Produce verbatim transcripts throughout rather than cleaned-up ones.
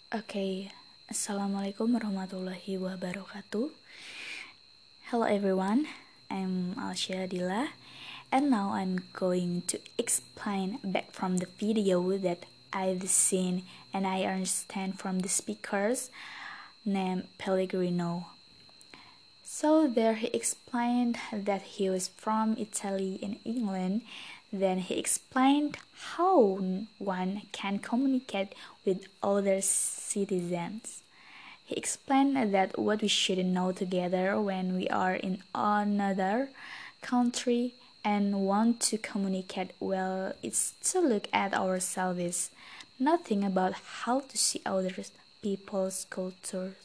Okay, Assalamualaikum warahmatullahi wabarakatuh. Hello everyone, I'm Alsya Dila, and now I'm going to explain back from the video that I've seen and I understand from the speakers named Pellegrino. So there he explained that he was from Italy in England. Then he explained how one can communicate with other citizens. He explained that what we should know together when we are in another country and want to communicate well is to look at ourselves, nothing about how to see other people's cultures.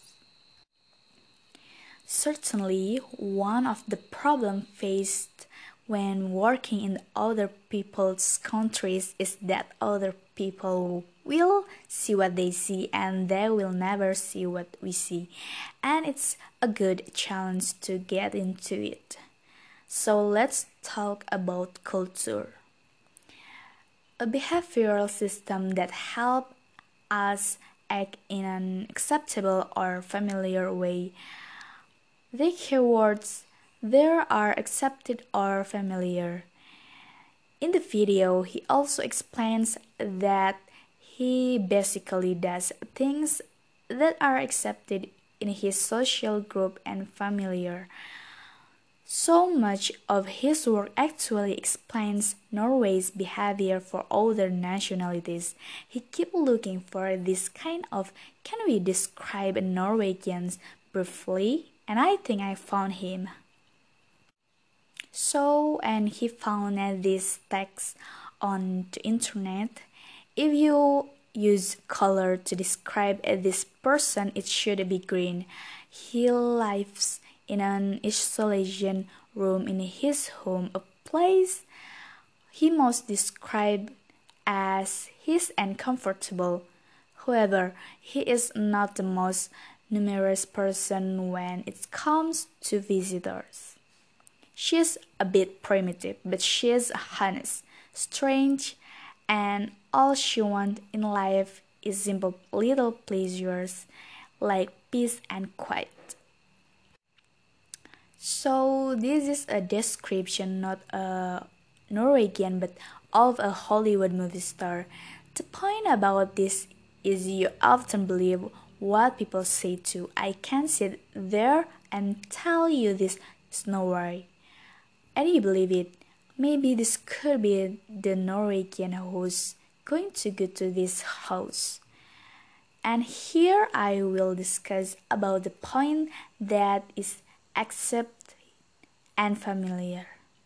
Certainly, one of the problems faced when working in other people's countries is that other people will see what they see and they will never see what we see. And it's a good challenge to get into it. So let's talk about culture. A behavioral system that helps us act in an acceptable or familiar way. The keywords there are accepted or familiar. In the video, he also explains that he basically does things that are accepted in his social group and familiar. So much of his work actually explains Norway's behavior for other nationalities. He kept looking for this kind of can we describe Norwegians briefly? And I think I found him. So, and he found this text on the internet. If you use color to describe this person, it should be green. He lives in an isolation room in his home, a place he most described as his and comfortable. However, he is not the most numerous person when it comes to visitors. She's a bit primitive, but she's honest, strange, and all she wants in life is simple little pleasures like peace and quiet. So this is a description, not a Norwegian, but of a Hollywood movie star. The point about this is you often believe what people say too. I can sit there and tell you this is no worry. And you believe it. Maybe this could be the Norwegian who's going to go to this house. And here I will discuss about the point that is accept and familiar.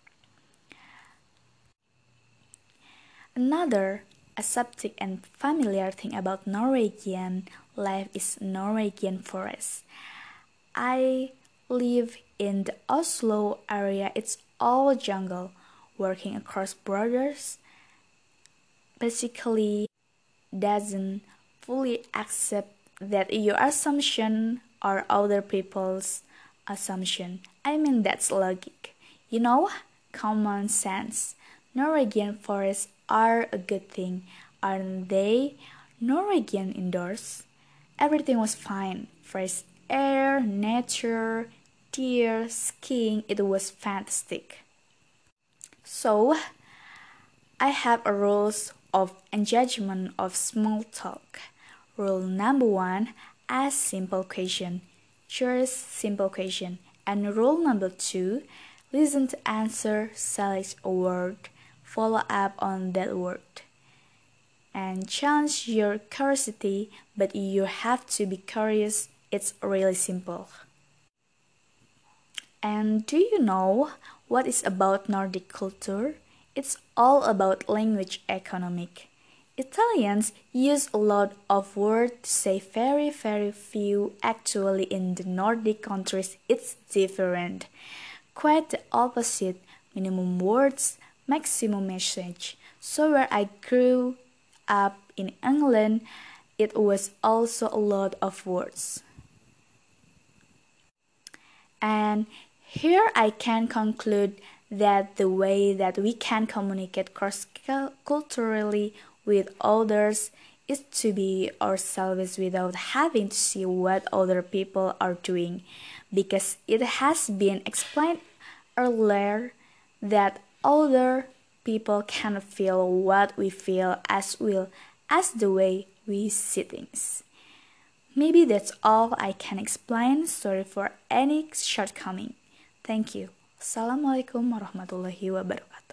Another aseptic and familiar thing about Norwegian life is Norwegian forest. I live in the Oslo area. It's all jungle. Working across borders basically doesn't fully accept that your assumption or other people's assumption. I mean that's logic. You know, common sense. Norwegian forests are a good thing, aren't they? Norwegian indoors, everything was fine. Fresh air, nature, deer, skiing, it was fantastic. So, I have a rules of engagement of small talk. Rule number one, ask simple question. Choose simple question. And rule number two, listen to answer, select a word, follow up on that word. And challenge your curiosity, but you have to be curious. It's really simple. And do you know what is about Nordic culture? It's all about language economic. Italians use a lot of words to say very very few. Actually in the Nordic countries it's different. Quite the opposite, minimum words, maximum message. So where I grew up in England, it was also a lot of words. And here I can conclude that the way that we can communicate cross-culturally with others is to be ourselves without having to see what other people are doing, because it has been explained earlier that other people can feel what we feel as well as the way we see things. Maybe that's all I can explain. Sorry for any shortcoming. Thank you. Assalamualaikum warahmatullahi wabarakatuh.